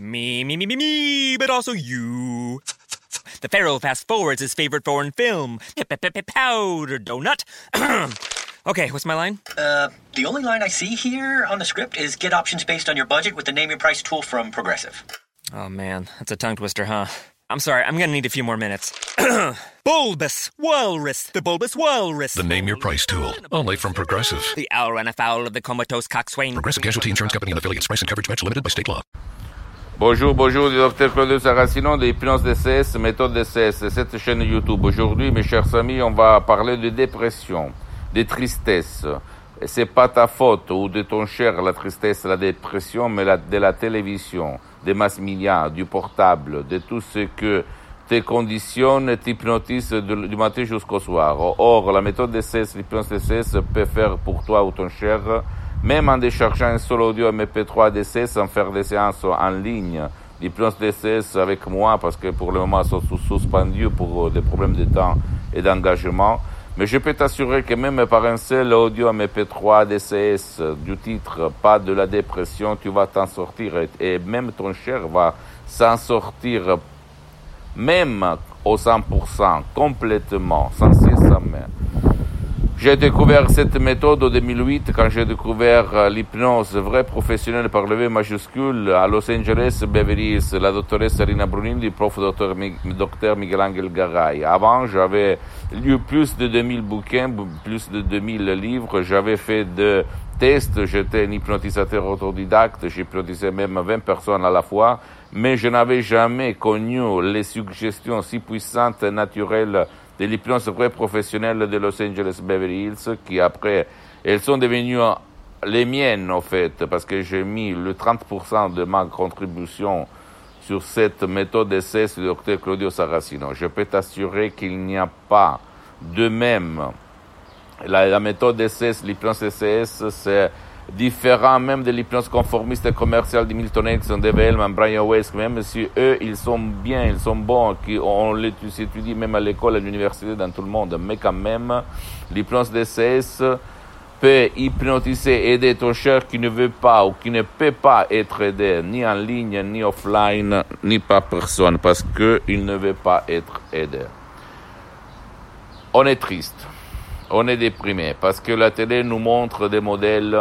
Me, but also you. The Pharaoh fast forwards his favorite foreign film, Powder Donut. Okay, what's my line? The only line I see here on the script is get options based on your budget with the Name Your Price tool from Progressive. Oh man, that's a tongue twister, huh? I'm sorry, I'm gonna need a few more minutes. Bulbous Walrus, the Bulbous Walrus. The Name Your Price tool, only from Progressive. The owl ran afoul of the comatose coxswain. Progressive Casualty Insurance Company and affiliates. Price and coverage match limited by state law. Bonjour, Dr Claudio Saracino de Hypnose DCS, méthode DCS, cette chaîne YouTube. Aujourd'hui, mes chers amis, on va parler de dépression, de tristesse. Et c'est pas ta faute ou de ton cher, la tristesse, la dépression, mais de la télévision, des mass médias, du portable, de tout ce que te conditionne, t'hypnotise du matin jusqu'au soir. Or, la méthode DCS, l'hypnose DCS, peut faire pour toi ou ton cher, même en déchargeant un seul audio MP3 DCS sans faire des séances en ligne. L'hypnose DCS avec moi, parce que pour le moment, ils sont suspendus pour des problèmes de temps et d'engagement. Mais je peux t'assurer que même par un seul audio MP3 DCS du titre « Pas de la dépression », tu vas t'en sortir et même ton cher va s'en sortir même au 100%, complètement, sans cesse, sans main. J'ai découvert cette méthode en 2008 quand j'ai découvert l'hypnose vraie professionnelle par le V majuscule à Los Angeles, Beverly Hills, la doctoresse Rina Brunindi, prof docteur Miguel Angel Garay. Avant, j'avais lu plus de 2000 bouquins, plus de 2000 livres, j'avais fait de tests, j'étais un hypnotisateur autodidacte, j'hypnotisais même 20 personnes à la fois, mais je n'avais jamais connu les suggestions si puissantes et naturelles de l'hypnose vraie professionnelle de Los Angeles Beverly Hills, qui après, elles sont devenues les miennes, en fait, parce que j'ai mis le 30% de ma contribution sur cette méthode d'essai du Dr Claudio Saracino. Je peux t'assurer qu'il n'y a pas de même. La méthode d'essai, l'hypnose DCS, c'est différent même de l'hypnose conformiste et commerciale de Milton Erickson, Dave Hellman, Brian Weiss, même si eux, ils sont bien, ils sont bons, on les étudie même à l'école, à l'université, dans tout le monde, mais quand même, l'hypnose DCS peut hypnotiser, aider ton cher qui ne veut pas ou qui ne peut pas être aidé, ni en ligne, ni offline, ni par personne, parce qu'il ne veut pas être aidé. On est triste, on est déprimé, parce que la télé nous montre des modèles,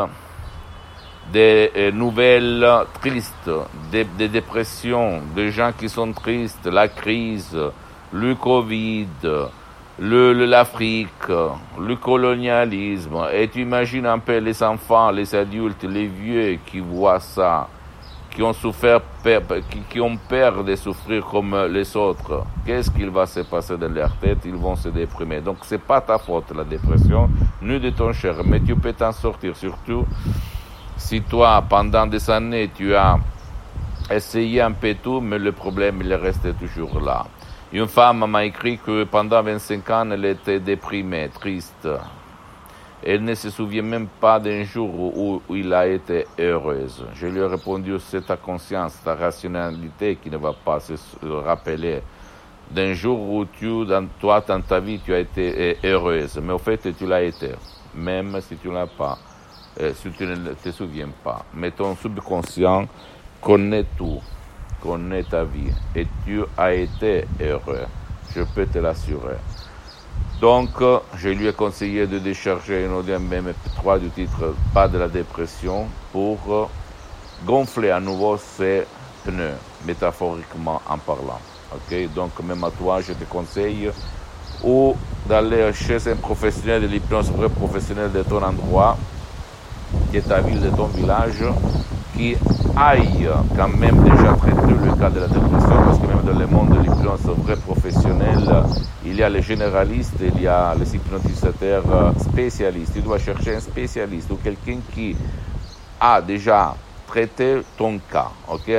des nouvelles tristes, des dépressions, des gens qui sont tristes, la crise, le Covid, l'Afrique, le colonialisme. Et tu imagines un peu les enfants, les adultes, les vieux qui voient ça, qui ont souffert, qui ont peur de souffrir comme les autres. Qu'est-ce qu'il va se passer dans leur tête? Ils vont se déprimer. Donc c'est pas ta faute, la dépression, ni de ton cher, mais tu peux t'en sortir, surtout si toi, pendant des années, tu as essayé un peu tout, mais le problème, il est resté toujours là. Une femme m'a écrit que pendant 25 ans, elle était déprimée, triste. Elle ne se souvient même pas d'un jour où il a été heureuse. Je lui ai répondu, c'est ta conscience, ta rationalité qui ne va pas se rappeler d'un jour où dans ta vie, tu as été heureuse. Mais au fait, tu l'as été, même si tu ne l'as pas. Si tu ne te souviens pas. Mais ton subconscient connaît tout, connaît ta vie, et tu as été heureux, je peux te l'assurer. Donc, je lui ai conseillé de décharger un audio MP3 du titre « Pas de la dépression » pour gonfler à nouveau ses pneus, métaphoriquement en parlant. Okay? Donc, même à toi, je te conseille ou d'aller chez un professionnel de l'hypnose vrai professionnel de ton endroit, qui est ta ville, de ton village, qui aille quand même déjà traiter le cas de la dépression, parce que même dans le monde de l'hypnose vrai professionnel, il y a les généralistes, il y a les hypnotisateurs spécialistes. Tu dois chercher un spécialiste ou quelqu'un qui a déjà traité ton cas, ok?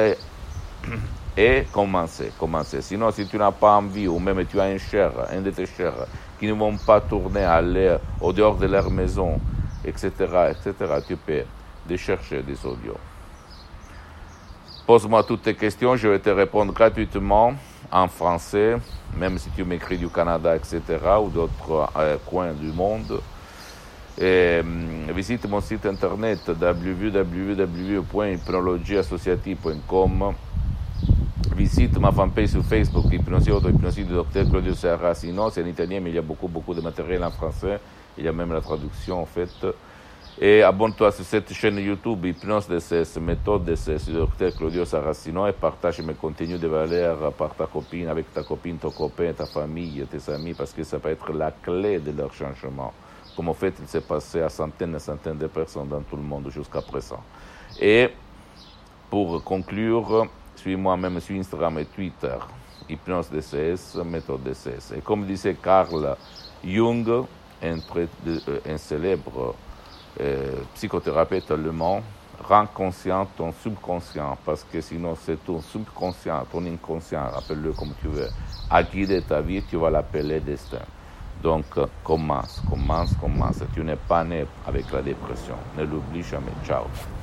Et commencer. Sinon, si tu n'as pas envie, ou même tu as un de tes chers, qui ne vont pas tourner, aller au dehors de leur maison, etc., tu peux chercher des audios. Pose-moi toutes tes questions, je vais te répondre gratuitement en français, même si tu m'écris du Canada, etc., ou d'autres coins du monde. Et visite mon site internet www.hypnologieassociative.com visite ma fanpage sur Facebook, Hypnosie Auto-Hypnosie du Dr Claudio Saracino. C'est en italien, mais il y a beaucoup de matériel en français. Il y a même la traduction, en fait. Et abonne-toi sur cette chaîne YouTube, Hypnose DCS, méthode DCS, du Dr Claudio Saracino, et partage mes contenus de valeur par ta copine, avec ta copine, ton copain, ta famille, tes amis, parce que ça peut être la clé de leur changement. Comme en fait, il s'est passé à centaines et centaines de personnes dans tout le monde jusqu'à présent. Et pour conclure, suis-moi même sur Instagram et Twitter, Hypnose DCS, méthode DCS. Et comme disait Carl Jung, un célèbre psychothérapeute allemand, rends conscient ton subconscient, parce que sinon c'est ton subconscient, ton inconscient, appelle-le comme tu veux, à guider ta vie, tu vas l'appeler destin. Donc commence. Tu n'es pas né avec la dépression, ne l'oublie jamais. Ciao.